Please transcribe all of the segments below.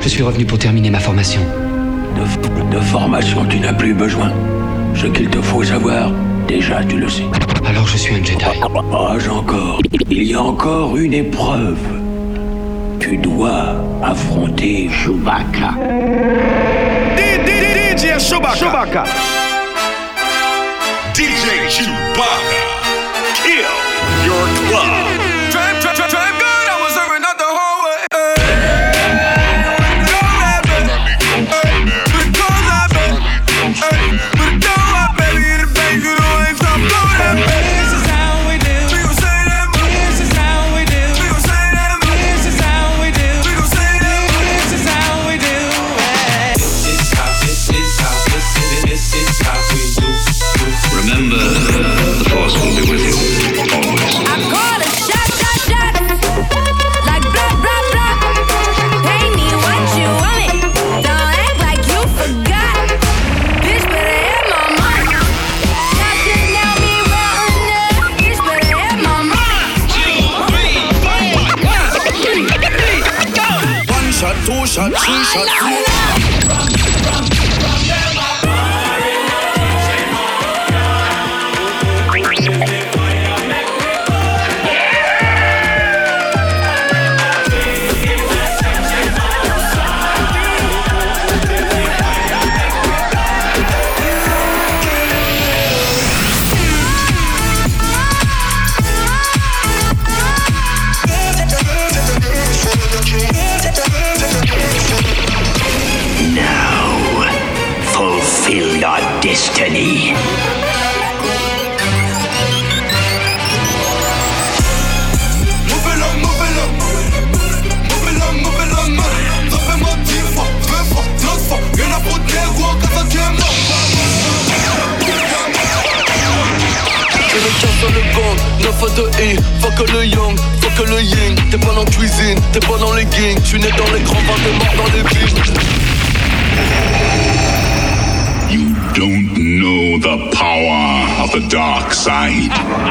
Je suis revenu pour terminer ma formation. De formation, tu n'as plus besoin. Ce qu'il te faut savoir, déjà tu le sais. Alors je suis un Jedi. Encore. Il y a encore une épreuve. Tu dois affronter Chewbacca. DJ Chewbacca. DJ Chewbacca. Kill your club. Drive good, I was serving out the hallway. Remember, the Force will be with you, always. I call a shot, like blah, blah, blah. Pay me what you want it. Don't act like you forgot. Bitch, better have my money. Y'all just now me round. Bitch, better have my money. 1 shot, 2 shot, 3 shot, 4. Fulfill your destiny. Sur le banc, 9 à 2 et fuck le yang, fuck le yin. T'es pas dans la cuisine, t'es pas dans les gangs. Tu n'es dans les grands bains, t'es mort dans les villes. You don't know the power of the dark side.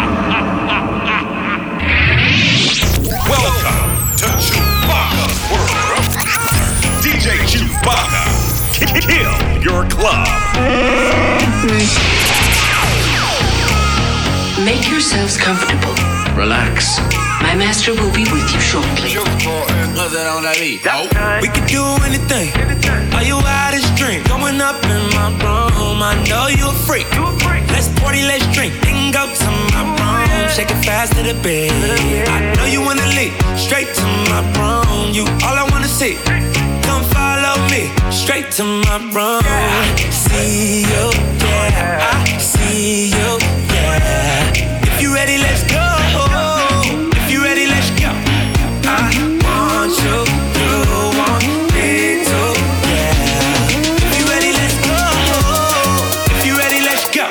Welcome to Chewbacca's world. DJ Chewbacca. Kill your club. Make yourselves comfortable. Relax. My master will be with you shortly. We can do anything. Are you out of drink? Going up in my room. I know you a freak. Let's party, let's drink. Then go to my room. Shake it fast to the bed. I know you wanna leave. Straight to my room. You all I wanna see. Come follow me. Straight to my room. I see you, yeah. I see you, yeah. If you ready, let's go. If you ready, let's go. I want you, you want me too, yeah. If you ready, let's go. If you ready, let's go.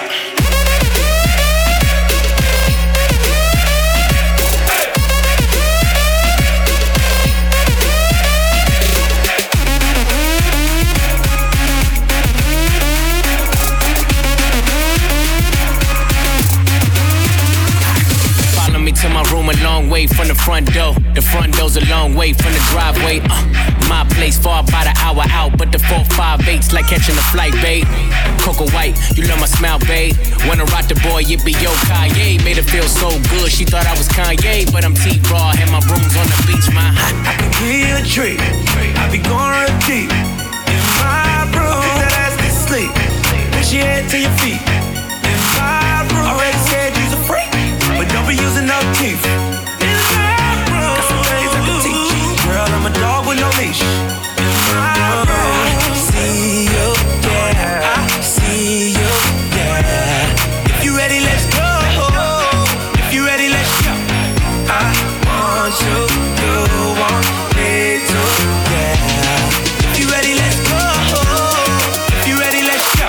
To my room a long way from the front door. The front door's a long way from the driveway. My place far by the hour out, but the 458's like catching a flight, babe. Coco White, you love my smile, babe. Wanna rock the boy, it be yo Kanye. Made her feel so good, she thought I was Kanye, but I'm T-Raw and my room's on the beach, my. I can give you a treat. I be going real deep in my room. Put that ass to sleep. Push your head to your feet. In my room. Already said you's a freak, but don't be using no teeth. In my room. Got some things I can teach you. Girl, I'm a dog with no leash. In my room. See you, yeah. I see you, yeah. If you ready, let's go. If you ready, let's go. I want you, you want me too, yeah. If you ready, let's go. If you ready, let's go.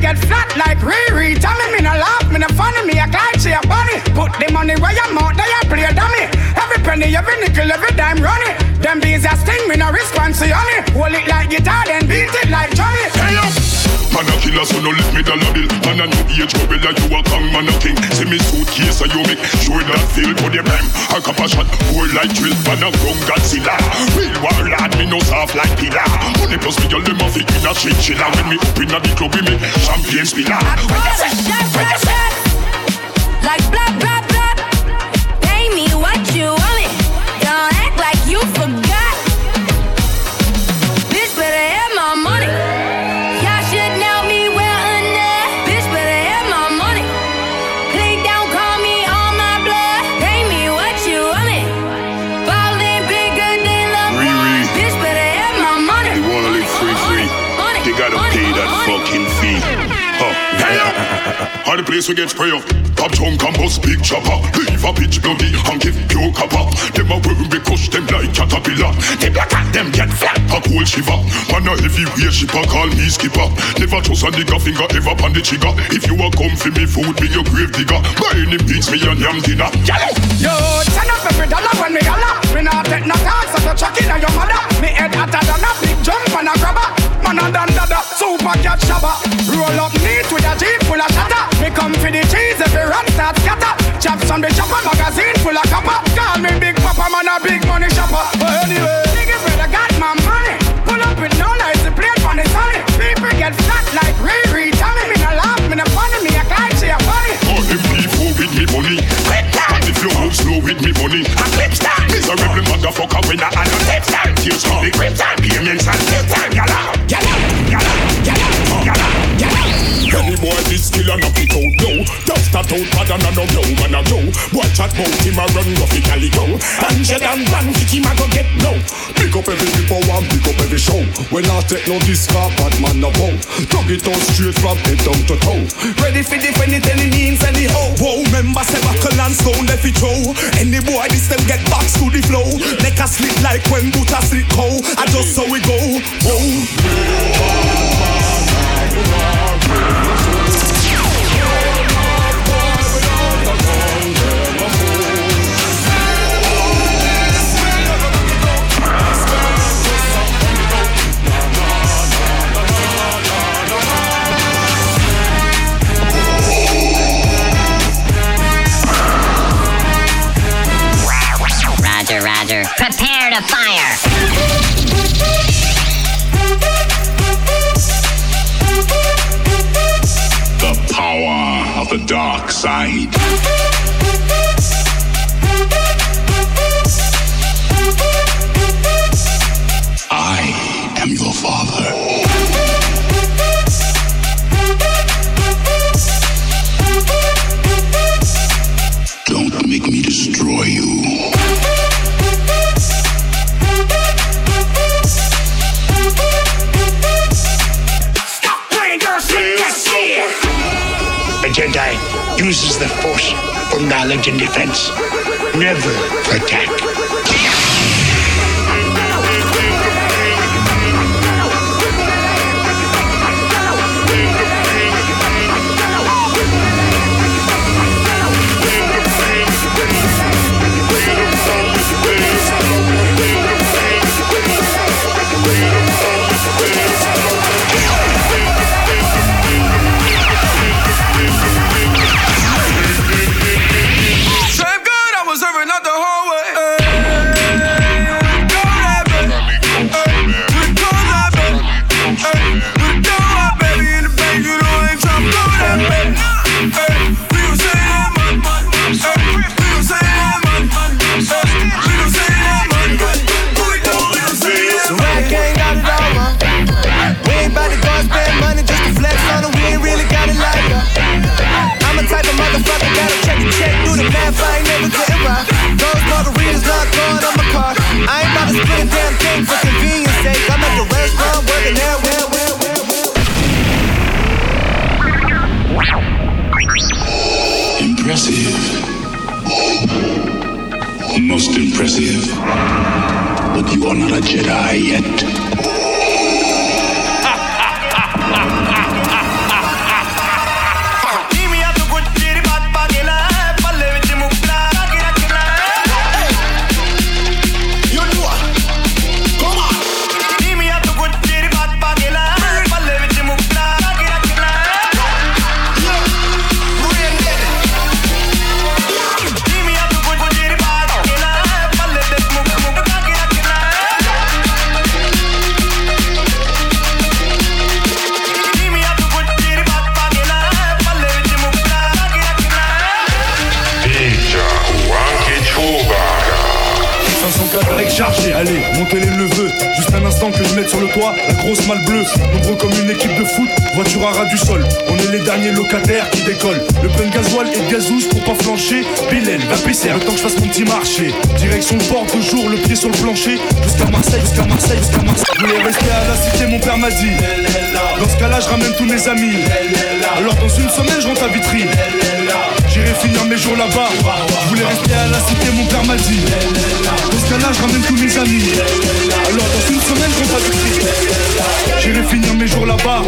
get flat like Riri. Tell me no laugh, me no funny, me act like she a bunny. Put the money where your mouth, they a play dummy. Every penny, every nickel, every dime running. Them bees a sting, me no response to honey. Hold it like guitar, then beat it like Johnny. Hey up! Man a killer, so no let me dollar bill. Man a new age rebel, you a king, man a king. See me suitcase, so you make sure that feel for the rhyme. A cup of shot, more like drill, man a grown Godzilla. Real warlord, me no soft like pillar. Money plus me, all them a fit in a shit chiller. When me up in a the club, we make champagne spiller. Like blah, blah, blah. Pay me what you want me. Don't act like you forgot. Bitch better have my money. Y'all should know me well enough. Bitch better have my money. Please don't call me on my blood. Pay me what you want me. Ballin' bigger than LeBron. Bitch better have my money. They wanna live free. They gotta pay that fucking fee. How the place we get spray up. Pop chunk and bust big chopper. Leave a bitch bloody and give pure copper. Them a worm we crush them like caterpillar. They black at them get flat a cold shiver. Man a heavyweight shipper call me skipper. Never trust a nigga finger ever on the trigger. If you a come for me food be your grave digger. By any means me and yam dinner. Yo, turn up every dollar when me holla. Me not take no talk so to chuck in on your mother. Me head hotter than a big jump and a grabber. Man a dan dada, super cat shabba. Roll up neat with a jeep full of shatter. Me come for the cheese every rat start scatter. Chaps on the chopper, magazine full of copper. Call me Big Papa, man a big money shopper. But anyway, nigga brother got my money. Pull up with no lights, the plate on the sunny. People get flat like Riri. Tell me no laugh, me no funny, me act like she a funny. All them people with me money. And if you move slow with me money. A clip stand. Miserable motherfucker when I had a clip stand. Tears from the grip time, payments and tip time. Yalla, yalla, yalla, yalla, yalla, yalla. Any boy this skill and knock it out, no. Dust that out, bad and no blow, man a go. Boy chat bout him a run rough it calico. Angel and Van kick him a go get no. Pick up every people and pick up every show. When I take no discard, bad man no bow. Dug it out straight from head down to toe. Ready for defend it any means anyhow. Whoa, member say buckle and stone left it throw. Any boy this them get back to the flow. Neck a slip like when boot a slip cow. I just so we go. Whoa. Roger. Prepare to fire. The power of the dark side. I am your father. Don't make me destroy you. A Jedi uses the Force for knowledge and defense, never for attack. Impressive. Most impressive. But you are not a Jedi yet. chargé. Allez, montez les neveux, juste un instant que je mette sur le toit la grosse malle bleue. Nombreux comme une équipe de foot, voiture à ras du sol. On est les derniers locataires qui décollent. Le plein de gasoil et de gazouze pour pas flancher. Bilal, va pisser, le temps que je fasse mon petit marché. Direction le port de jour, le pied sur le plancher. Jusqu'à Marseille, jusqu'à Marseille, jusqu'à Marseille. Je voulais rester à la cité, mon père m'a dit. Dans ce cas-là, je ramène tous mes amis. Alors dans une semaine, je rentre à Vitry. J'irai finir mes jours là-bas. Je voulais rester à la cité, mon père m'a dit. Dans ce cas-là, je ramène tous mes amis. Alors dans une semaine, je rentre à Vitry. J'irai finir mes jours là-bas.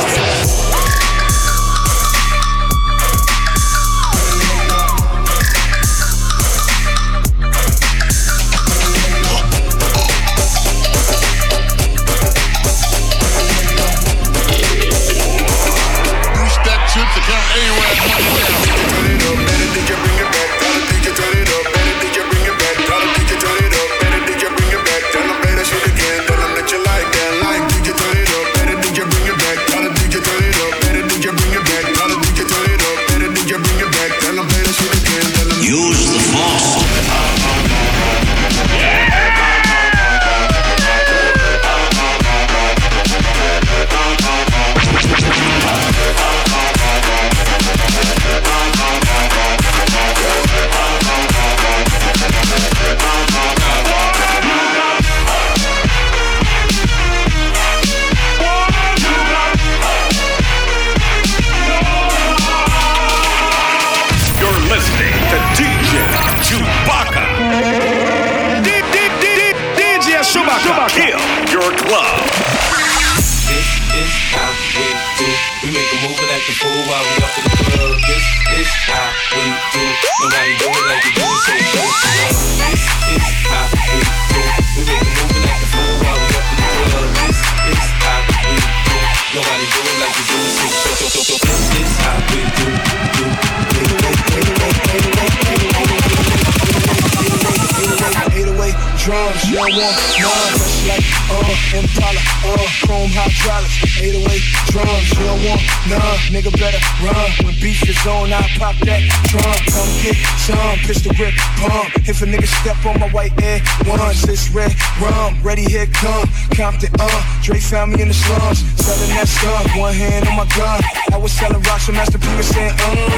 Drums, you don't want none. Fresh like Impala, chrome hydraulics. 808 drums, you don't want none. Nigga better run. When beef is on, I pop that drum. Come get some, pistol grip, pump. If a nigga step on my white air, once it's red rum, ready here come. Compton, Dre found me in the slums, selling that skunk. One hand on my gun. I was selling rocks, so Master P was saying,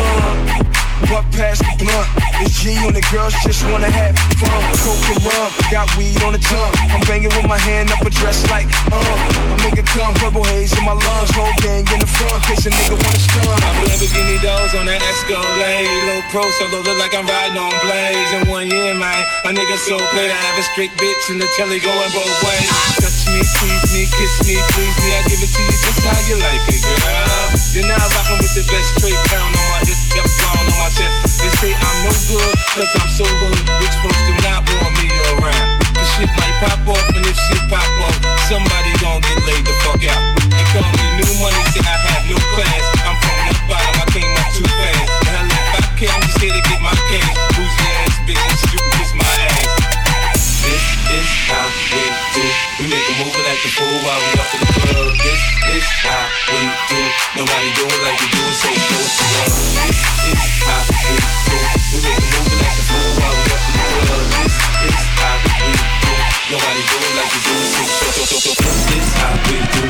Buck past the blunt. It's G on the girls just wanna have fun. Coke and rum, got weed on the tongue. I'm banging with my hand up a dress like, I make it come, purple haze in my lungs. Whole gang in the front, case a nigga wanna stun. I put Lamborghini doors on that Escalade. Low pro, solo look like I'm riding on blades. In 1 year, man, my nigga so paid. I have a straight bitch in the telly going both ways. Touch me, squeeze me, kiss me, please me. I give it to you just how you like it, girl. You're now rocking with the best straight pound on my hip, yep, on my chest. They say I'm no good, cause I'm so hood. Rich folks do not want me around. The shit might pop off, and if shit pop off, somebody gon' get laid the fuck out. They call me new money, say I have no class. I'm from the bottom, I came up too fast. The hell if I care, I'm just here to get my cash. Who's your ass, bitch, and you can kiss my ass. This is how we do. We make a move like the fool while we up in the club. This is how we do. Nobody do it like we do it, so close to us. This is how we do. We make a move like the fool while we up in the club. This is how we do. Nobody do it like we do it, so this is how we do.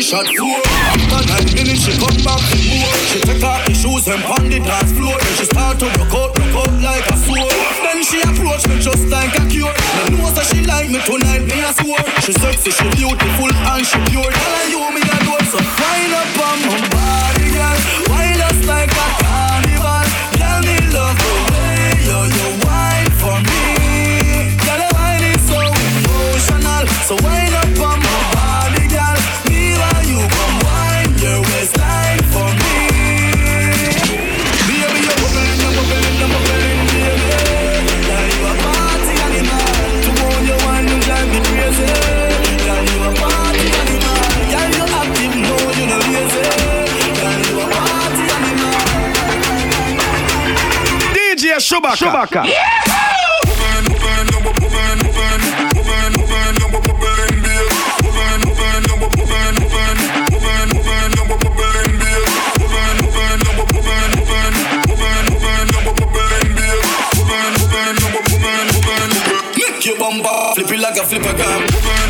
shot four. After 9 minutes, she come back to more. She take off the shoes and pound the dance floor. Then she start to rock out like a sword. Then she approach me just like a cure. Me know that she like me tonight, me a swore. She sexy, she beautiful and she pure. Tell her you me a door, so wind up on my body, girl. Wind us like a carnival. Girl, me love the way you wine for me. Girl, the wine is so emotional. So wind up on my body, girl. Me while you come wine your waistline for me. Baby, you're bubbling, you're bubbling, you're bubbling, baby. Girl, you a party animal. To own your wine, you drive me crazy. Girl, you a party animal. Girl, you active, no, you no lazy. Girl, you a party animal. DJ Chewbacca. Make your bumper flip it like a flipper gun.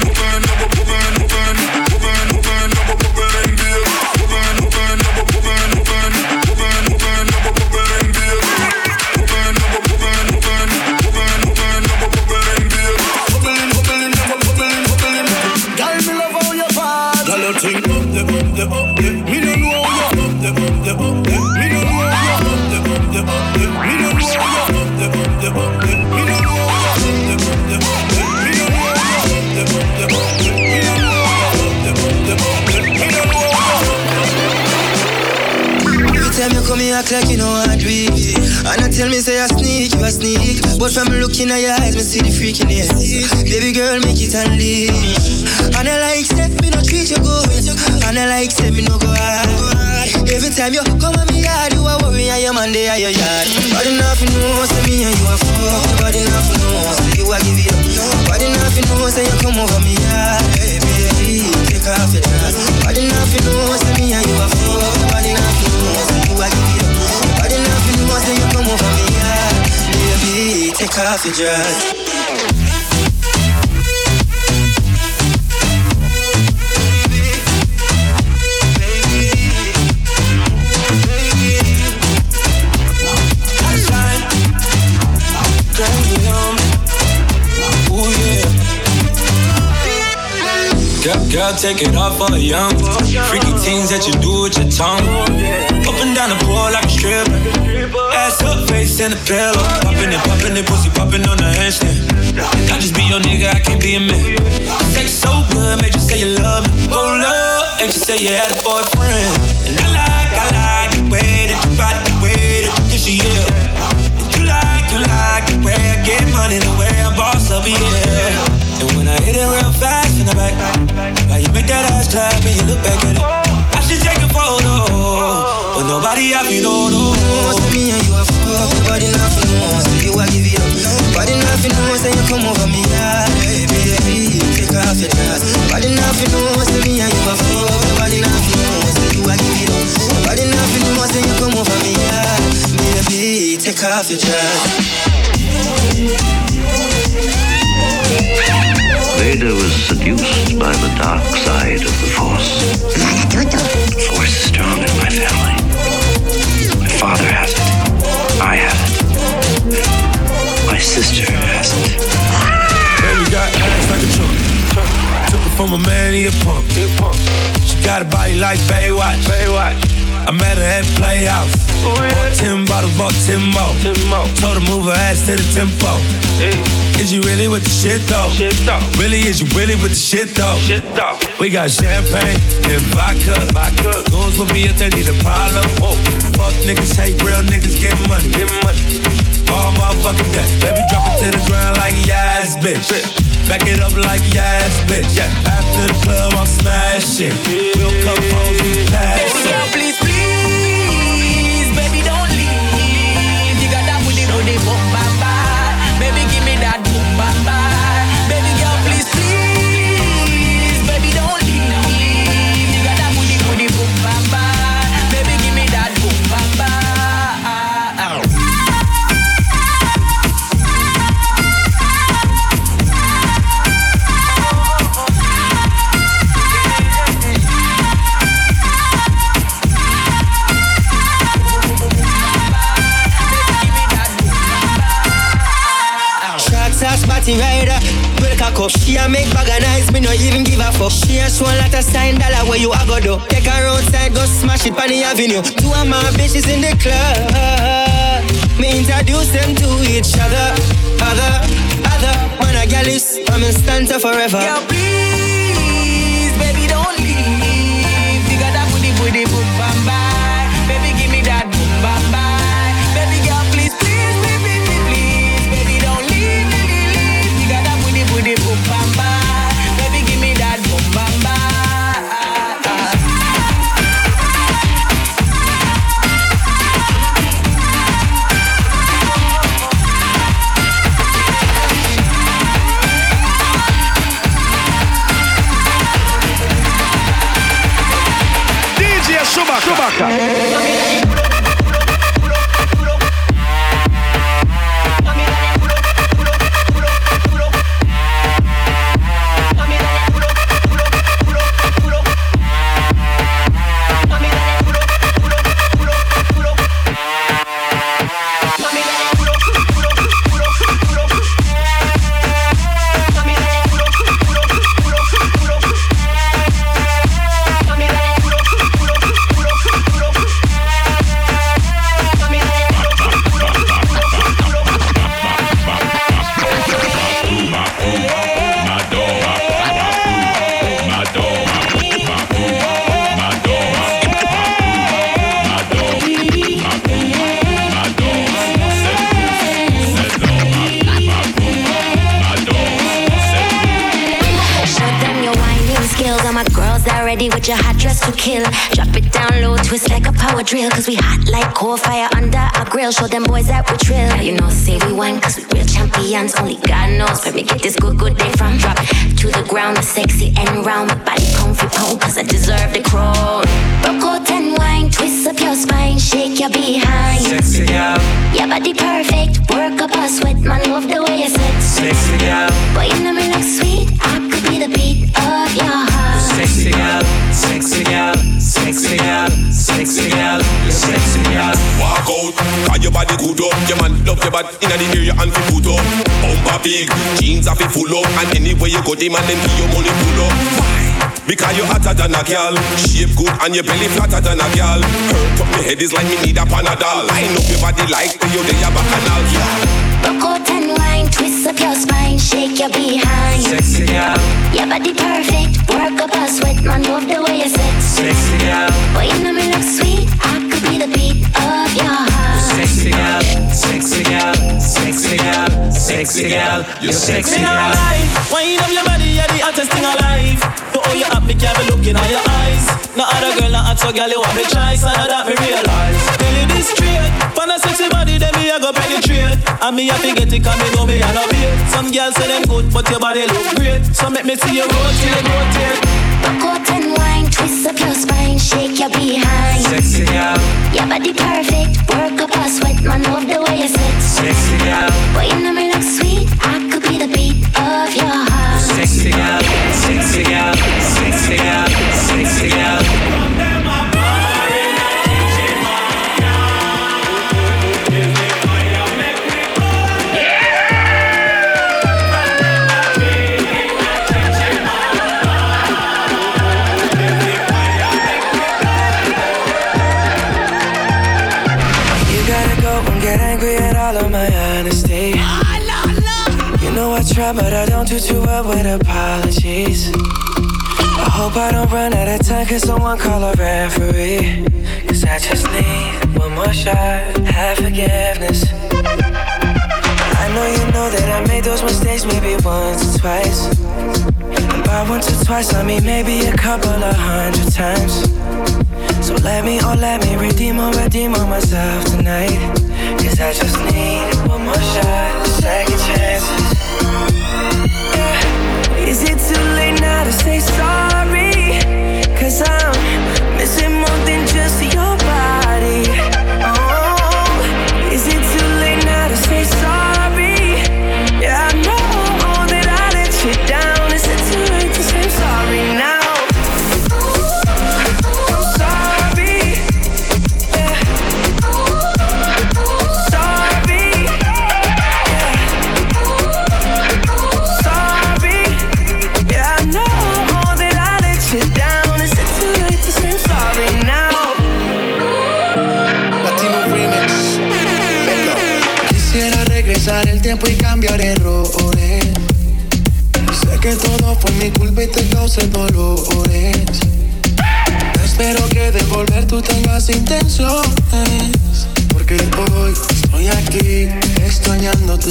Come here act like you know I do it. And I tell me say I sneak, you a sneak. But from looking at your eyes, me see the freakiness. Baby girl, make it unleash. And I like say me no treat you good. And I like say me no go hard. Every time you come at me yard, you a worry and your man they are your yard. Body nothing knows say me and you a fuck. Body nothing knows say you a give it up. Body nothing knows say you come over me yard. Baby, take off your dress. Body nothing knows say me and you a fuck. Body nothing knows say you a give it up. Body nothing knows say you come over me yard. Baby, take off your dress. Girl, take it off for a young. Freaky things that you do with your tongue. Up and down the pole like a stripper. Ass up, face in the pillow. Poppin' it, pussy poppin' on the handstand. I just be your nigga, I can't be a man. Sex so good, made you say you love me. Oh love, and you say you had a boyfriend. And I like the way that you body, the way that you kiss you, yeah. You like the way I get money, the way I boss up, yeah. And when I hit it real fast in the back, why you make that ass clap and you look back at it? I should take a photo, but nobody have you know. Knows me and you a fuck, nobody nothing knows. You a give it up, nobody nothing knows. Then you come over me, yeah, baby, take off your dress. Nobody nothing knows. Me and you a fuck, nobody nothing knows. You a give it up, nobody nothing knows. Then you come over me, yeah, baby, take off your dress. Vader was seduced by the dark side of the Force. The Force is strong in my family. My father has it. I have it. My sister has it. Baby got ass like a trunk. Took it from a man, he a punk. She got a body like Baywatch. I met her at Playhouse. Bought 10 bottles, bought 10 more. Told her move her ass to the tempo. Is you really with the shit though? Really, is you really with the shit though? We got champagne and vodka. Goons with me if they need a problem. Fuck niggas hate real niggas get money. All motherfucking day. Baby drop it to the ground like yes, bitch. Back it up like yes, bitch. After the club I'm smashing. We'll come home and pass it. Baby girl, please, baby don't leave. You got that booty, no they boom bye bye. Baby give me that boom bye bye. Baby girl, please, baby don't leave. You got that booty, no they boom bye bye. Baby give me that boom bye bye. party rider. Break a cup, she a make bag of nice, me no even give a fuck. She a show a lot of sign dollar where you a go do. Take her outside, go smash it on the avenue. Two of my bitches in the club. Me introduce them to each other. Other, man a gal is, I'm in stanza forever. Girl, please, baby, don't leave. You got that booty, boom, bam, bye. Baby, give me that boom, bam, bye. Baby, girl, please, please, baby, don't leave. You got that booty, boom, bam, bye. Baby, give me that boom, bam, bye. Chewbacca. With your hot dress to kill. Drop it down low, twist like a power drill. Cause we hot like coal fire under our grill. Show them boys that we trill. Now you know, say we won cause we real champions. Only God knows where we get this good day from. Drop to the ground, sexy and round. My body comfy pound cause I deserve the crown. Broke out and wine, twist up your spine. Shake your behind. Sexy girl. Your body perfect, work up a sweat. Man, love the way you sit. Sexy girl. Boy, you know me look sweet. I could be the beat of your heart. Sexy girl, sexy girl, sexy girl, sexy girl, you sexy girl. Walk out, cause your body good up. Your man love your body inna the area and fi put up. Bumper big, jeans are fi full up. And anywhere you go, the man them give you money pull up. Why? Because you hotter than a girl. Shape good and your belly flatter than a girl. Hurt up your head is like me need a Panadol. Line up your body like you dey a bacchanal. Broke out and wine, twist up your spine, shake your behind. Sexy girl. Your body perfect, work up a sweat. Man, love the way you sit. Sexy girl. Boy, you know me look sweet. I could be the beat of your heart. Sexy girl, sexy girl, sexy girl, sexy girl, you sexy girl. Wind up your body, you're the hottest thing alive. To all you up, me can't be looking at your eyes. No other girl, not hot, so girl, you want me choice. And that me realize. Tell you this straight. Find a sexy body, then me I go penetrate. And me have to get it, cause me know me and a beat. Some girls say them good, but your body look great. So make me see you rotate. Broke out and wine, twist up your spine, shake your behind. Sexy girl. Your body perfect, work up a sweat. Man, love the way you sit. Sexy girl. Boy, you know me look sweet. I could be the beat of your heart. Sexy girl, sexy girl, sexy girl, sexy girl. Get angry at all of my honesty. You know I try, but I don't do too well with apologies. I hope I don't run out of time, cause someone call a referee. Cause I just need one more shot, have forgiveness. I know you know that I made those mistakes maybe once or twice. And by once or twice, I mean maybe a couple of 100 times. So let me redeem or myself tonight. Cause I just need one more shot, second chances. Yeah. Is it too late now to say sorry? Cause I'm missing more than just your body. Oh, is it too late now to say sorry? Yeah, I know that I let you down. Is it too late to say sorry now? cambiar errores. Sé que todo fue mi culpa y te causé dolores. Espero que de volver tú tengas intenciones, porque hoy estoy aquí extrañándote.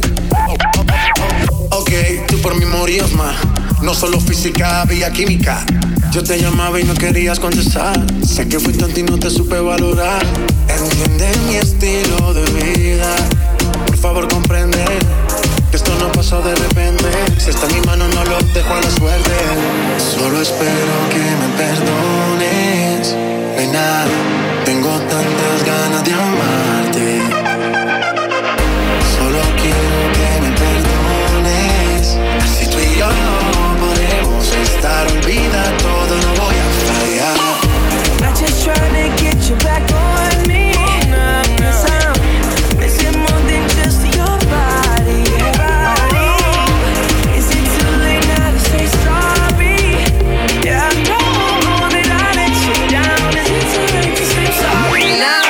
Ok, tú por mí morías más. No solo física, había química. Yo te llamaba y no querías contestar. Sé que fui tonto y no te supe valorar. Entiende mi estilo de vida. Por favor comprende que esto no pasó de repente. Si está en mi mano no lo dejo a la suerte. Solo espero que me perdones. Nena, tengo tantas ganas de amarte. Solo quiero que me perdones. Si tú y yo no podemos estar, olvida todo, no voy a fallar. I'm just trying to get you back on me. Cause I'm missing more than just your body. Is it too late now to say sorry? Yeah, I know that I let you down. Is it too late to say sorry now?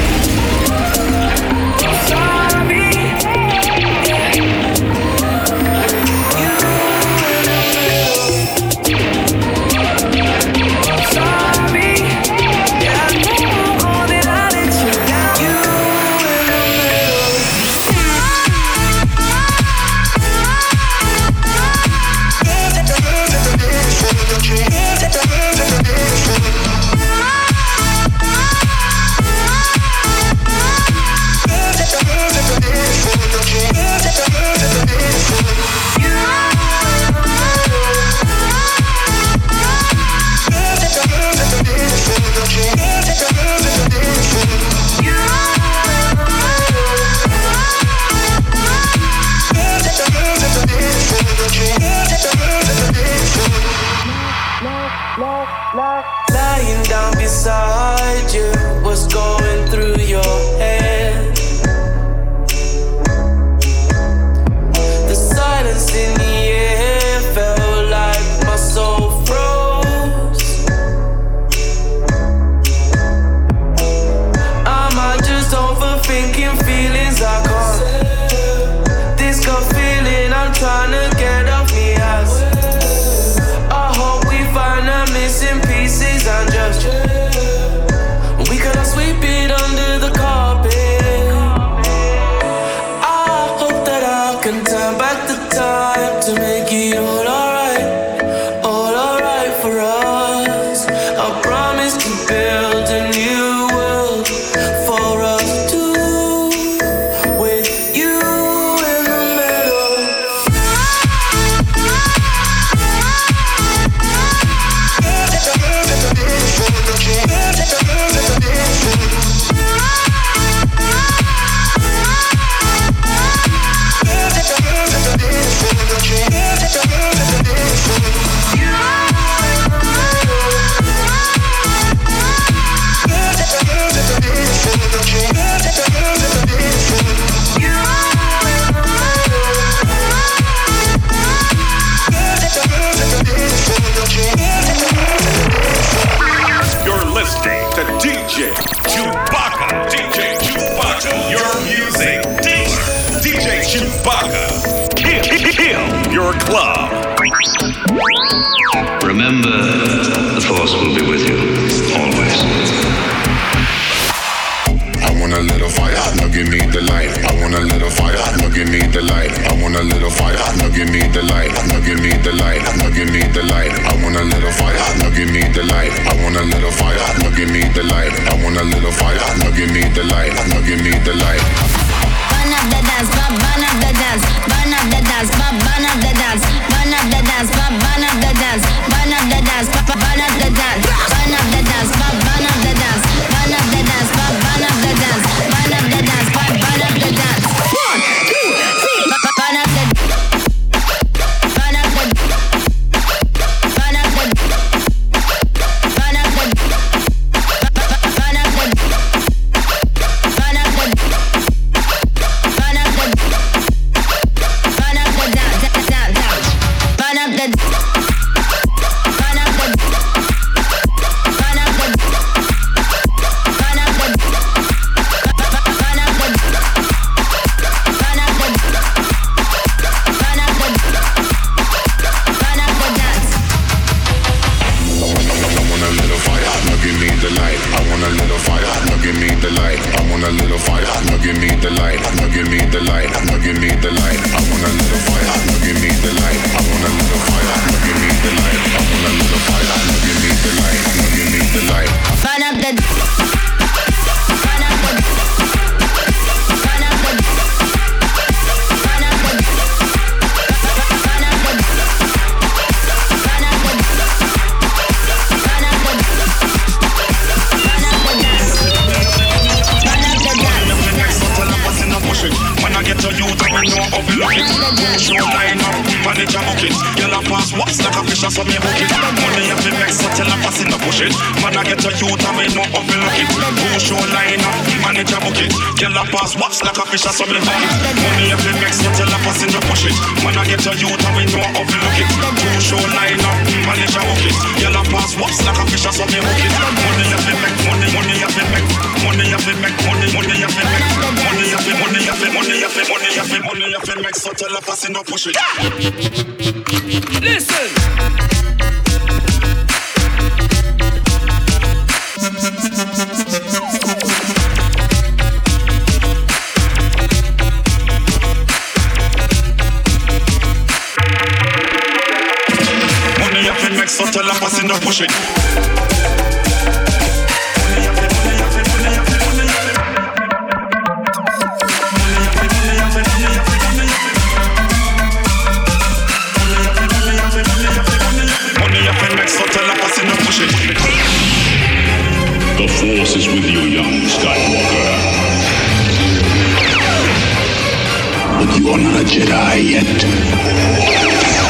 Lying down beside you, what's going through your head? The silence in the air felt like my soul froze. Am I just overthinking feelings I can't? This gut feeling I'm trying to get off me ass. I hope we find the missing pieces and just we cannot sweep it under the carpet. I hope that I can turn back the time to make it all alright for us. I promise to build a new world for us two, with you in the middle. You're listening to DJ Chewbacca. DJ Chewbacca. Your music dealer. DJ Chewbacca. Kill your club. Remember, the Force will be with you, always. I want a little fire, now give me the light. I want a little fire, now give me the light. I want a little fire, now give me the light. Now give me the light, now give me the light. I want a little fire, now give me the light. I want a little fire, now give me the light. I want a little fire, now give me the light. Now give me the light. Burn up the dance, burn up the dance, burn up the dance, burn up the dance, burn up the dance, burn up the dance, burn up the dance, burn up the dance, burn up the dance, burn up the dance, burn up the dance, burn up the dance, burn up the dance, burn up the dance. 1, 2, 3, burn up the, burn up the, burn up the, burn up the, burn up the, burn up the. fi look it. Show line up, manage a bucket. Girl a pass what's like a fish so me hook it. Money a fi make so tell a pass in the push it. Man a get a youth and me know how fi look it. Show line up, manage a bucket. Girl a pass what's like a fish so me hook it. Money a fi make so tell a pass in the push it. Man a get a youth and me know how fi look it. Show line up, manage a bucket. Girl a pass what's like a fish so me hook it. Money a fi make, money a fi make, money a fi make, money a fi make, money a fi, money a fi, money a fi, money a fi, money a fi make so tell a pass in the push it. Listen. Money a fi make so tell a pass in the push it. The Force is with you, young Skywalker. But you are not a Jedi yet.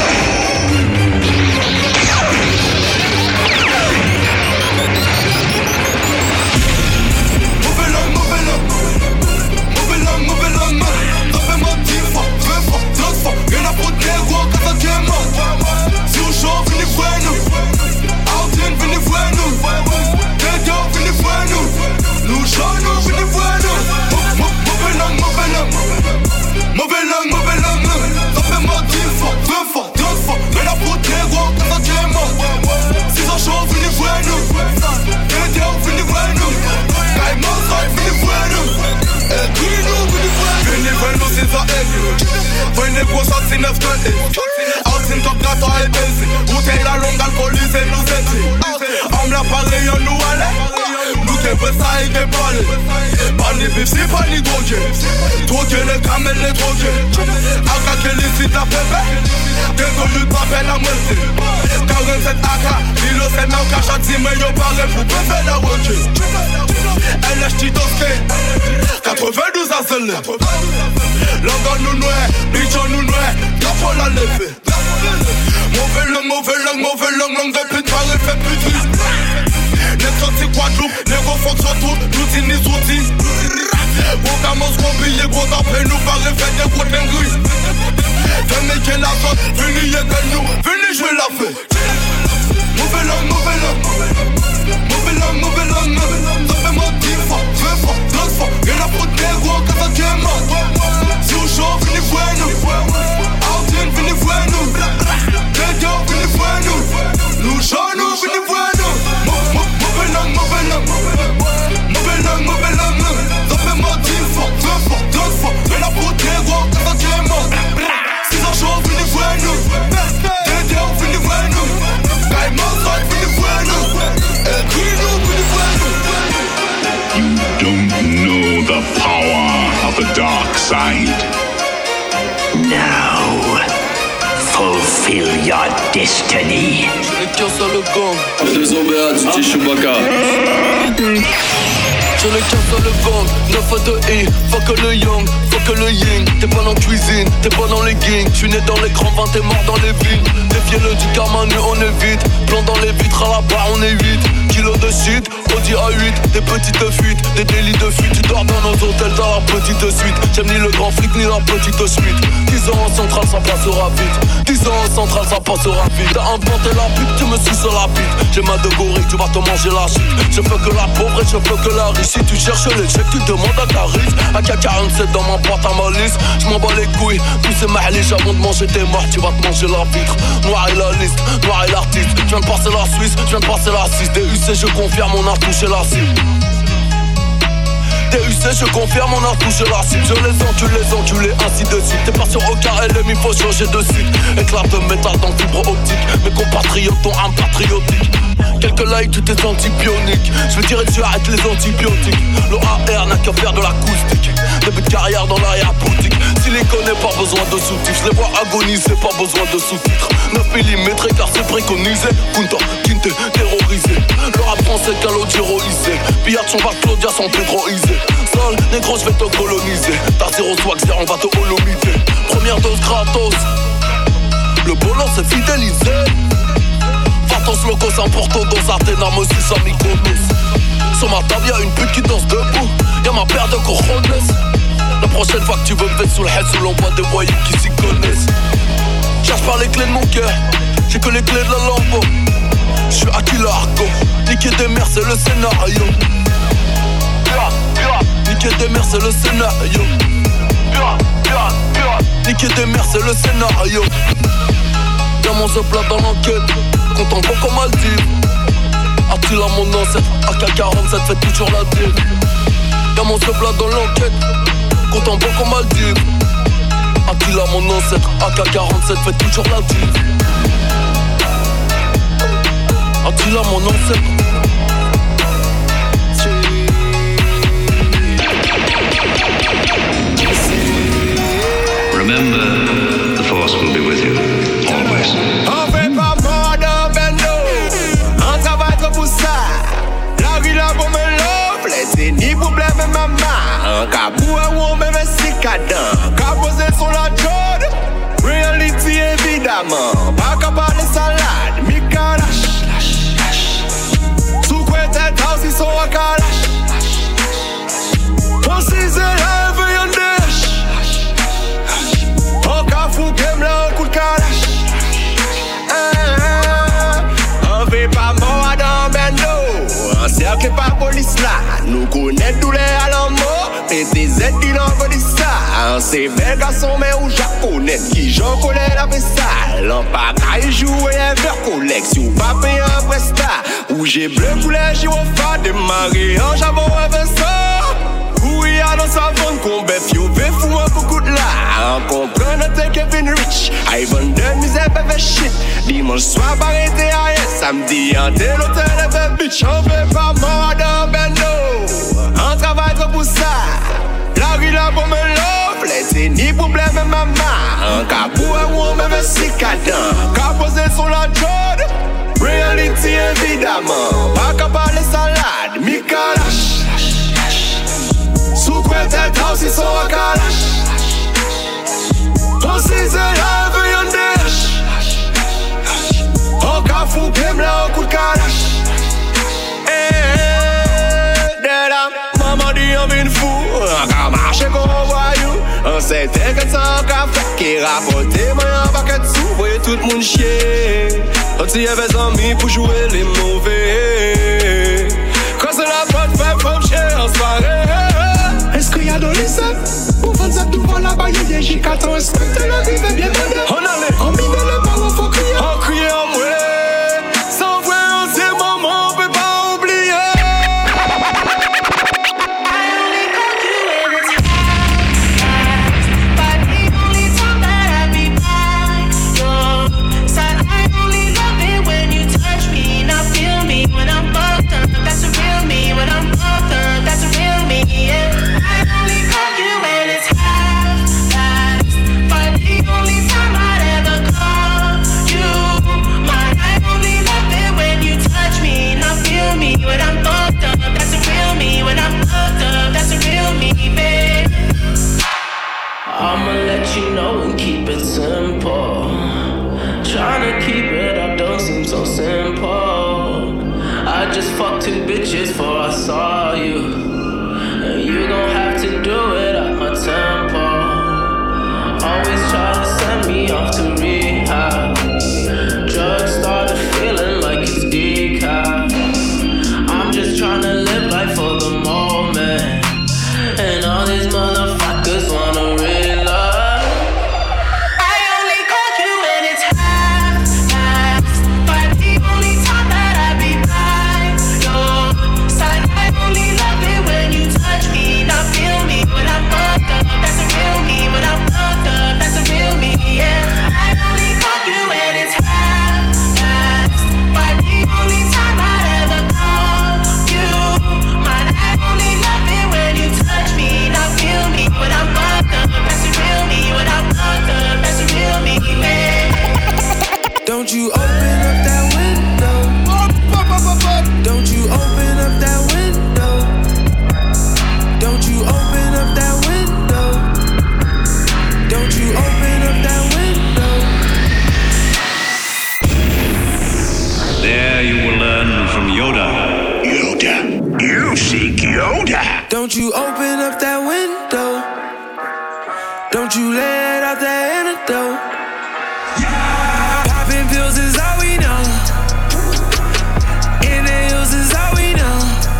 Destiny. J'ai les cœurs sur le gang. Les deux OBA, DJ Chewbacca. J'ai les cœurs sur le gang. 9 à 2 I, fuck le young, fuck le yin. T'es pas dans la cuisine, t'es pas dans les gangs. J'suis né dans les grands vins, t'es mort dans les villes. Défiez-le du karma, nu on évite. Plan dans les vitres, à la barre on est 8. Kilos de shit, Audi A8. Des petites fuites, des délits de fuite. Tu dors dans nos hôtels, dans la petite suite. J'aime ni le grand flic, ni la petite suite. 10 ans en centrale, ça passera vite. 10 ans en centrale, ça passera vite. T'as inventé la pute, tu me suis sur la bite. J'ai ma de gorille, tu vas te manger la shit. Je veux que la pauvre et je veux que la riche. Si tu cherches les chèques, tu demandes à Caris. AK-47 dans ma boîte à malice. J'm'en bats les couilles, tous ces mahliches. Avant de manger tes morts, tu vas te manger la vitre. Noir et la liste, noir et l'artiste. J'viens de passer la Suisse, j'viens de passer la 6. DUC, je confirme, on a touché la cible. DUC, je confirme, on a touché la cible. Je les enculés, ainsi de suite. T'es pas sur OKLM, il faut changer de site. Éclat de métal dans fibre optique. Mes compatriotes ont un patriotique. Quelques likes, tout est anti-bionique. Je veux dire, tu arrêtes les antibiotiques. L'OAR n'a qu'à faire de l'acoustique. Début de carrière dans l'arrière-boutique. S'il les connaît, pas besoin de sous-titres. Je les vois agoniser, pas besoin de sous-titres. 9 mm car c'est préconisé. Kunta, Kinte, terrorisé. Le rap français, calodie héroïsé. Pillard, son va Claudia sans pédroisé. Sale, négro, je vais te coloniser. T'as 0 swag, on va te holomiser. Première dose gratos. Le boulot c'est fidélisé. Vatos locos importants dans Ardenam aussi sans Mykonos. Sur ma table y'a une pute qui danse debout. Y'a ma paire de cojones. La prochaine fois que tu veux me mettre sous le head, sous l'envoi des voyous qui s'y connaissent. Cherche pas les clés de mon cœur, j'ai que les clés de la Lambo. J'suis Aquila Arco, niquer des mères c'est le scénario. Niquer des mères c'est le scénario. Niquer des mères c'est le scénario. Y'a mon plat dans l'enquête, content beaucoup Maldives. Attila mon ancêtre, AK-47 fait toujours la dive. Y'a mon plat dans l'enquête, content beaucoup Maldives. Attila mon ancêtre, AK-47 fait toujours la dive. Attila mon ancêtre. Remember, the Force will be with you, always. On fait pas mort dans Bendo, on travaille trop pour ça. La rue là pour me l'offre, c'est ni problème maman. Un cabou à ou même si cadent, caposé sur la jode. Reality évidemment, pas capable de salade, mi calache. Sous quoi tête house ils sont à calache. On s'y élève y'en dèche. On cafou game là un coup de calache. On fait pas mort dans Bendo, on cercle pas police là. Nous connaît tous les alarmes, mais des aides qui n'envoient de ça. C'est bel garçon mais ou japonais qui j'en connais la vaisselle. On pas qu'à y jouer un verre collection, pas payer un prestat. Ou j'ai bleu couleur gyrophare, démarrer en jabon avec ça. Où y a dans sa vente qu'on bête, yo veut fou un beaucoup de là. On comprend notre Kevin Rich, I vendeur misère bébé shit. Dimanche soir arrêté à rien, samedi en tel hôtel bébé bitch. On fait pas mort dans Bendo, on travaille trop pour ça. La rue là pour me l'offre, c'est ni problème maman. Un cabou à ou même si cadent, caposé sur la jode. Reality évidemment, pas capable de salade, mi calache. Sous quoi tête house ils sont à calache. On s'y élève y'en dèche. On cafou game là un coup de calache. Maman dit on vient fou, on va marcher comme un voyou. On sait que ça on va faire qui rapporte moi un paquet de sous, voyez tout le monde chier. On s'y avait amis pour jouer les mauvais. Quand c'est la bonne femme comme chier en soirée. Est-ce qu'il y a dans les sacs? Pour vendre ça devant la baille, il y a J4 ans, respecte la vie, mais bien moderne. On allait, on mine le ballon, faut crier. On crie en moi. Sans vrai, en ces moments, on peut pas oublier. I'ma let you know and keep it simple. Tryna keep it up don't seem so simple. I just fucked 2 bitches before I saw you, and you gon' have to do it at my tempo. Always try to send me off to rehab. Drugs started feeling like it's decaf. I'm just tryna live life for the moment, and all these motherfuckers wanna real love. I only call you when it's half-assed, but the only time that I be by your side, I Don't you open up that window. Don't you let out that antidote. Popping pills is all we know. Inhales is all we know.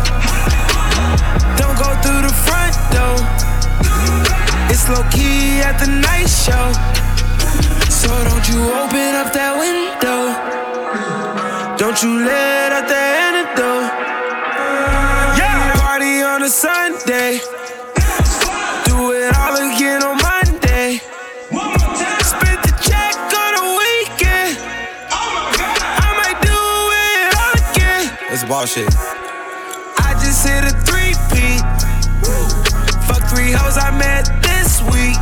Don't go through the front door. It's low key at the night show. So don't you open up that window. Don't you let out the antidote. Yeah, party on a Sunday. Do it all again on Monday. Spend the check on a weekend. I might do it all again. It's bullshit. I just hit a 3-peat. Fuck 3 hoes I met this week.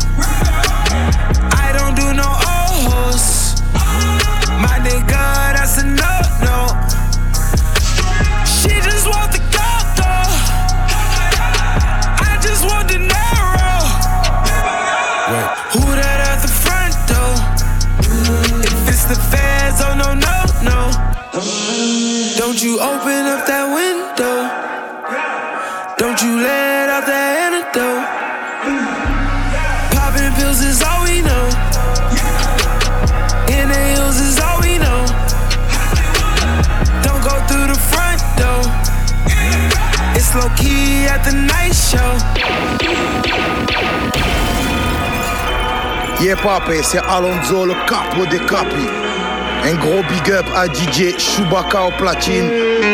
I don't do no old hoes. My nigga, that's a no-no. She just want the go-go. I just want the narrow. Wait. Who that at the front door? If it's the feds, oh no, no, no. Don't you open up that window. Don't you let out that antidote. Popping pills is all we know. Inhales is all we know. Don't go through the front door. It's low key at the night show. Yeah papé, c'est Alonso le capo des capis. Un gros big up à DJ Chewbacca au platine.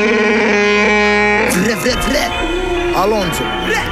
Vrai, vrai, vrai. Alonso.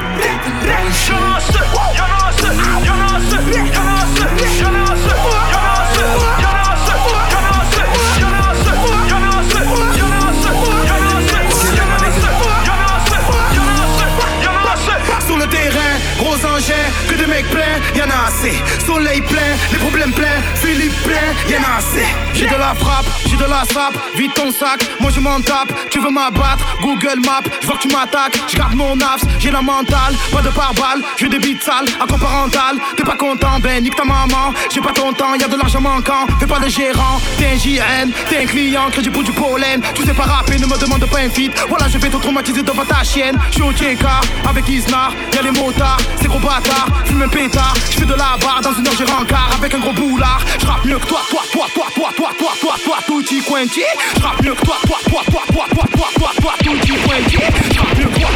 Sur le terrain, gros engins, que de mecs pleins, y'en a assez. Soleil plein, les problèmes pleins, Philippe plein, y'en a assez. J'ai de la frappe, j'ai de la sape, vide ton sac, moi je m'en tape. Tu veux m'abattre, Google Maps, je vois que tu m'attaques. Je garde mon abs, j'ai la mentale, pas de pare-balles, j'ai des bites sales, accord parental. T'es pas content, ben nique ta maman. J'ai pas ton temps, y'a de l'argent manquant, fais pas de gérant. T'es un JN, t'es un client, crédit pour du pollen. Tu sais pas rapper, ne me demande pas un feat. Voilà, je vais te traumatiser devant ta chienne. J'suis au Tchéka, avec Isnar, y'a les motards, c'est gros bâtard, fume un pétard. J'fais de la barre, dans une heure j'ai rencard, avec un gros boulard. J'rappe mieux que toi, tutti quanti. J'rappe mieux que toi, tutti quanti. J'rappe mieux que toi,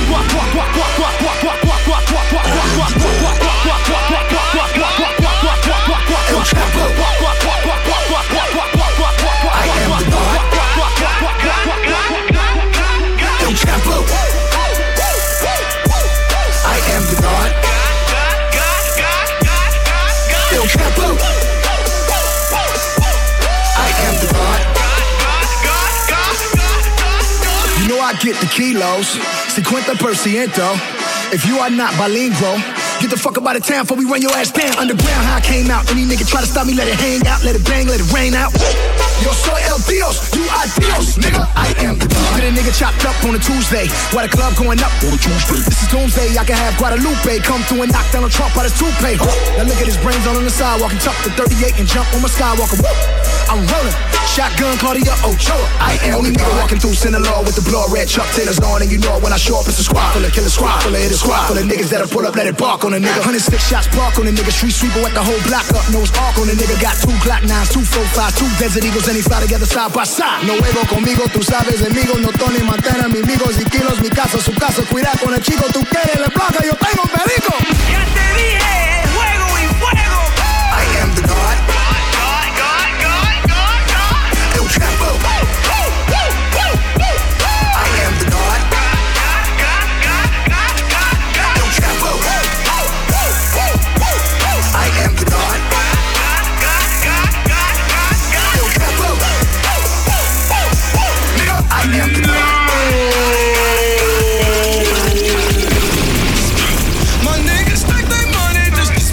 You know I get the kilos, 50%. If you are not bilingual, get the fuck up out of town before we run your ass down. Underground, how I came out. Any nigga try to stop me, let it hang out, let it bang, let it rain out. Yo soy el Dios, you are Dios, nigga. I am the God. Get a nigga chopped up on a Tuesday, while the club going up on a Tuesday. This is doomsday, I can have Guadalupe come through and knock down a Trump out his toupee. Now look at his brains all on the sidewalk and tuck the 38 and jump on my Skywalker. Woo! I'm rolling, shotgun Claudia Ochoa. I am only nigga walking through Sinaloa with the blood red Chuck Taylors on, and you know when I show up it's a squad full of killer squad, full of hit a squad, full of niggas that'll pull up, let it bark on a nigga. 106 shots park on a nigga, street sweeper wet the whole block up, nose arc on a nigga. Got 2 Glock 9s, 2 4-5, 2 Desert Eagles, and he fly together side by side. No huevo conmigo, tú sabes enemigo, no Tony Montana, mis amigos y kilos, mi casa, su casa, cuida con el chico, tú quieres la placa, yo tengo perico. Ya te dije, fuego y fuego. I am the God. El Chapo. I am the God. El Chapo. I am the God. El Chapo. Nigga, I am the God. My niggas stack their money just to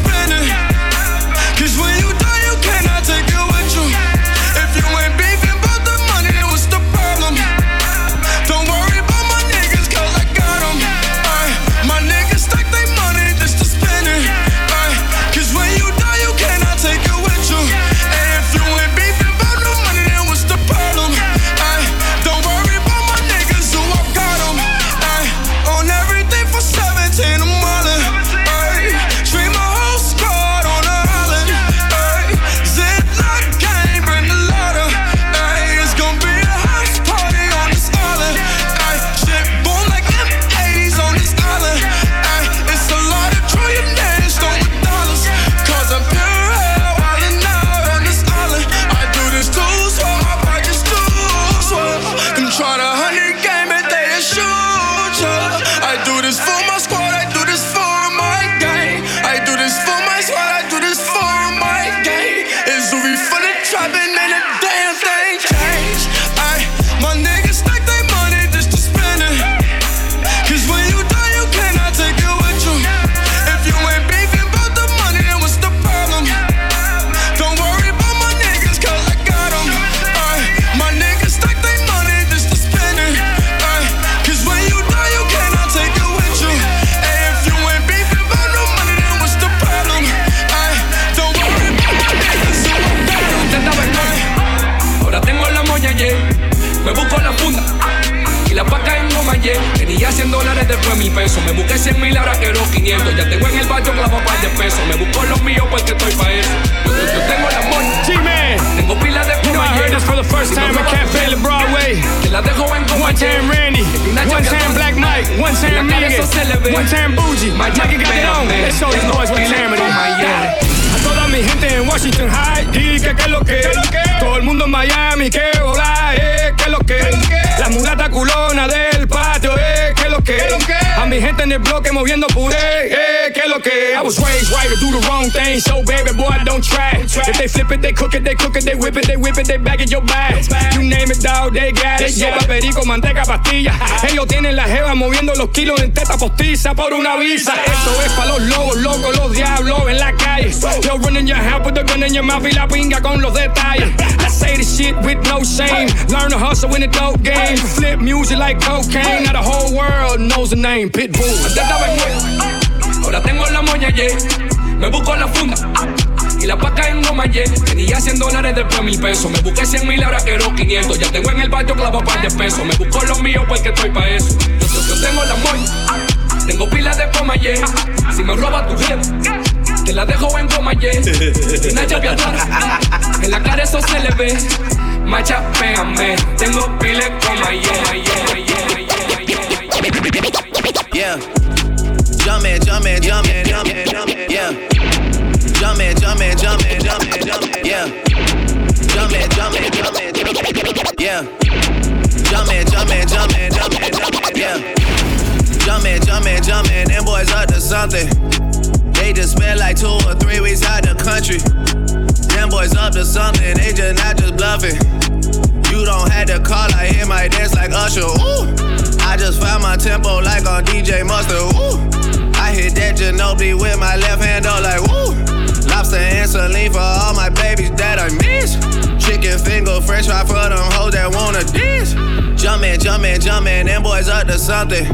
$100, después $1000. Me busqué 100,000, ahora quiero 500. Ya tengo en el barrio clavo par de pesos. Me busco los míos porque estoy pa' eso. Yo tengo el amor. G-Man. Tengo pilas de You know I heard this for the first time at Cafe La Broadway. Te la dejo en One time Randy, one time Black Mike, one time Megan, one time Bougie. Mikey got it on. Let's show these boys what time it is. A toda mi gente en Washington High, y que es lo que. Todo el mundo en Miami, que hola, que es lo que. La mulata culona del patio, que es lo que. A mi gente en el bloque moviendo puré, que es lo que. I was raised right to do the wrong thing, so baby boy don't try. If they flip it, they cook it, they cook it, they whip it, they whip it, they bag it your bag. You name it, dog, they got it. Sopa, perico, manteca, pastilla. Ellos tienen la jeva moviendo los kilos en teta postiza por una visa. Esto es pa' los lobos, locos, los diablos en la calle. Yo running your house with the gun in your mouth y la pinga con los detalles. I say this shit with no shame. Learn to hustle in the dope game. Flip music like cocaine. Now the whole world knows the name Pitbull. Antes estaba en huevo, ahora tengo la moña, yeah. Me busco la funda y la paca en goma, yeah. Tenía $100, después $1000. Me busqué 100,000, ahora quiero 500. Ya tengo en el barrio clavo par de pesos. Me busco los míos porque estoy pa' eso. Yo tengo la moña, tengo pilas de coma, yeah. Si me roba tu jefe, te la dejo en goma, yeah. Una llave atrás, en la cara eso se le ve. Macha, pégame, tengo pilas de coma, yeah. Jumpin', jumpin', jumpin', jumpin', jumpin', yeah. Jumpin', jumpin', jumpin', jumpin', jumpin', yeah. Jumpin', jumpin', jumpin', jumpin', yeah. Jumpin', jumpin', jumpin', jumpin', jumpin', yeah. Jumpin', jumpin', jumpin', them boys up to something. They just spent like 2 or 3 weeks out the country. Them boys up to something, they just not just bluffing. You don't have to call, I hear my dance like Usher, ooh. I just found my tempo like on DJ Mustard, ooh. I hit that Ginobili with my left hand, though, like, woo. Lobster and saline for all my babies that I miss. Chicken finger, french fry for them hoes that wanna dance. Jumpin', jumpin', jumpin', them boys up to something.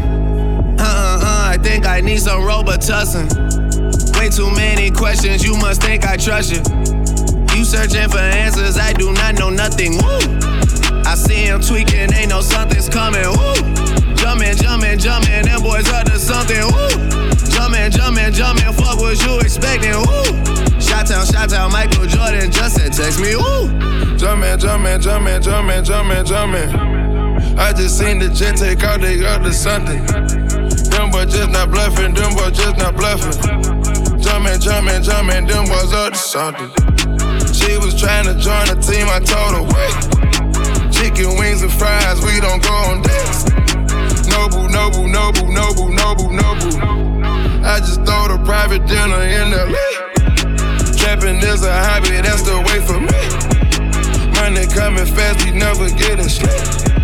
I think I need some Robitussin. Way too many questions, you must think I trust you. You searching for answers, I do not know nothing, woo. I see him tweaking, ain't no something's coming, woo. Jumpin', jumpin', jumpin', them boys up to something, woo. Jumpin', jumpin', jumpin', fuck what you expecting, woo. Shout out, Michael Jordan just said text me, woo. Jumpin', jumpin', jumpin', jumpin', jumpin', jumpin'. I just seen the jet take out, they up to something. Them boys just not bluffing, them boys just not bluffing. Jumpin', jumpin', jumpin', them boys up to something. She was trying to join the team, I told her, wait. Chicken wings and fries, we don't go on dates. Nobu, nobu, nobu, nobu, nobu, nobu. I just throw the private dinner in LA. Trapping is a hobby, that's the way for me. Money coming fast, we never getting straight.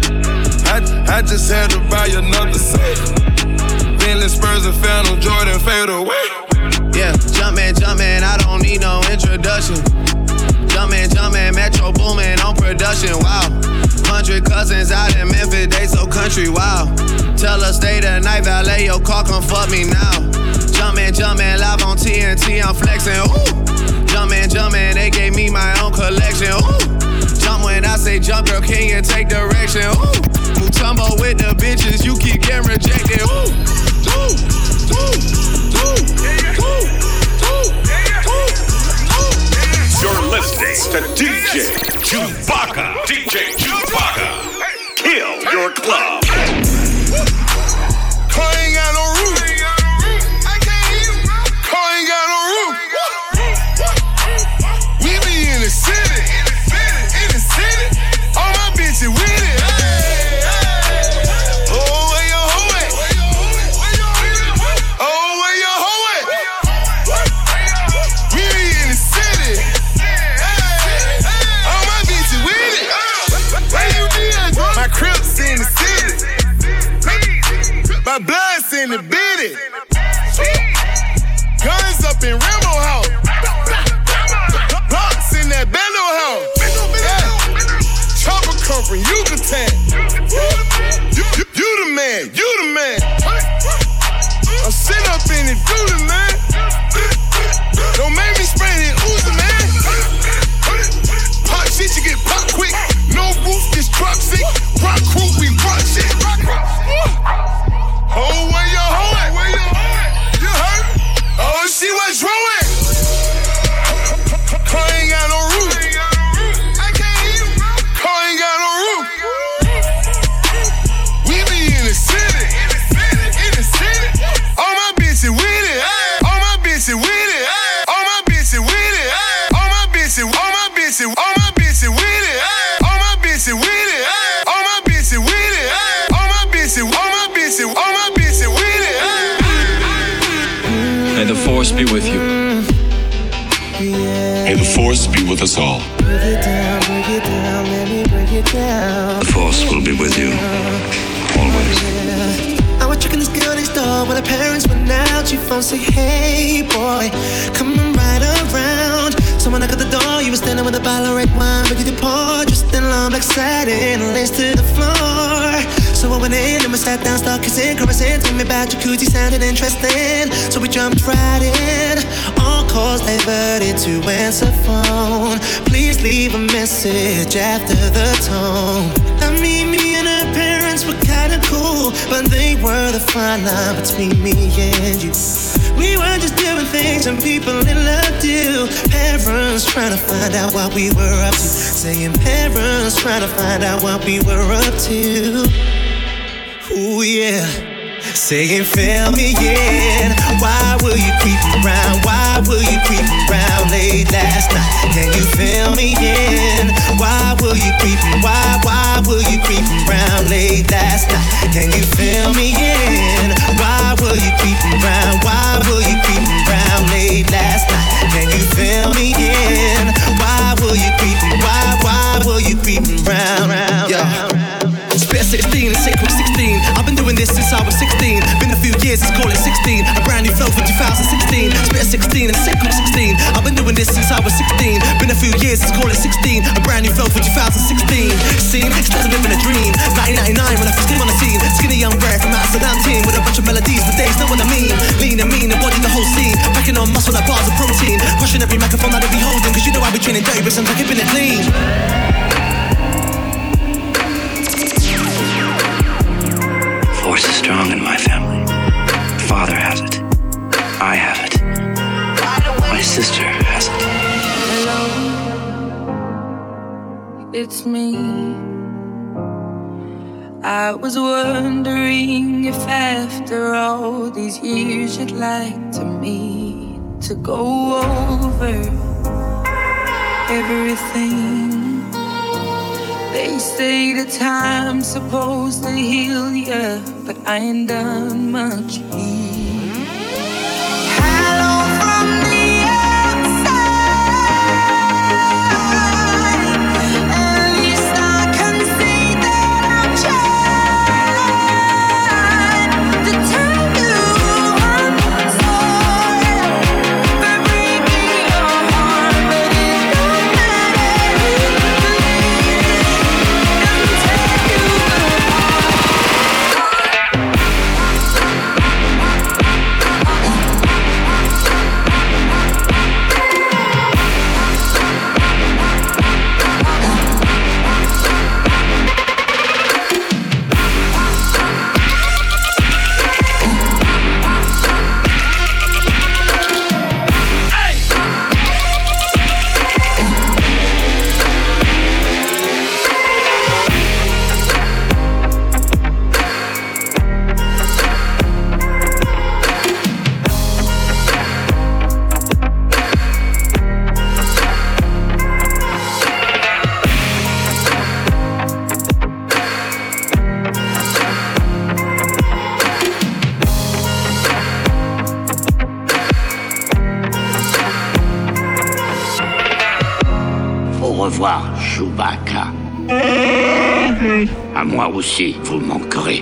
I just had to buy another safe. Bentley Spurs and Phantom Jordan fade away. Yeah, jumpin', I don't need no introduction. Jumpin', Metro boomin' on production, wow. 100 cousins out in Memphis, they so country, wow. Tell her stay the night, valet your car, come fuck me now. Jumpin', live on TNT, I'm flexin', ooh. Jumpin', they gave me my own collection, ooh. Jump when I say jump, girl, can you take direction, ooh. Mutombo with the bitches, you keep getting rejected, ooh. You're listening to DJ Chewbacca. DJ Chewbacca. Kill your club. Car ain't got no roof. Car ain't got no roof. We be in the city. In the city. All my bitches with it. Oh, where your hoe at? Oh, where your hoe at? We be in the city. All my bitches with it. Where you be at, bro? My Crips in the city. My blood's in the bitches, all my bitches with it. All my bitches with it. All my bitches with it. All my bitches, all my bitches, all my bitches with it. May the force be with you. May the force be with us all. Break it down, let me break it down. The force will be with you. Always. I was checking this girl next door when her parents went out. She phone say, hey boy, coming right around. So when I got the door, you were standing with a bottle of red wine, ready to pour, just in long black satin, lace to the floor. So I went in and we sat down, started kissing, caressing, told me about jacuzzi, sounded interesting. So we jumped right in, all calls diverted to answer phone. Please leave a message after the tone. I mean, me and her parents were kinda cool, but they were the fine line between me and you. We were just doing things and people in love do. Parents trying to find out what we were up to. Saying parents trying to find out what we were up to. Ooh yeah. Saying fill me in. Why will you creep around? Why will you creep around late last night? Can you fill me in? Why will you creep? Why will you creep around late last night? Can you fill me in? Why will you creep around? Why will you creep around late last night? Can you fill me in? Why will you creep? Why will you creep around? Yeah. Spit 16 and sick with 16. I've been doing this since I was 16. Been a few years, let's call it 16. A brand new flow for 2016. Spit 16 and sick with 16. I've been doing this since I was 16. Been a few years, let's call it 16. A brand new flow for 2016. Seen, still living a dream. 1999 when I first came on the scene. Skinny young Brad from Amsterdam team with a bunch of melodies, but they know what I mean. Lean and mean, embodied the whole scene. Packing on muscle like bars of protein. Crushing every microphone that I be holding. Cause you know I be training dirty, but sometimes keeping it clean. Force is strong in my family. Father has it. I have it. My sister has it. Hello, it's me. I was wondering if after all these years you'd like to meet to go over everything. They say the time's supposed to heal ya, but I ain't done much healing. Hello from the outside. At least I can see that I'm trying to tell you I'm sorry for breaking your heart, but it don't matter. Revoir, Chewbacca. À moi aussi, vous manquerez.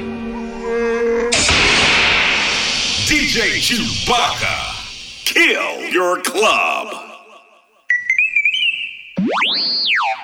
DJ Chewbacca, kill your club.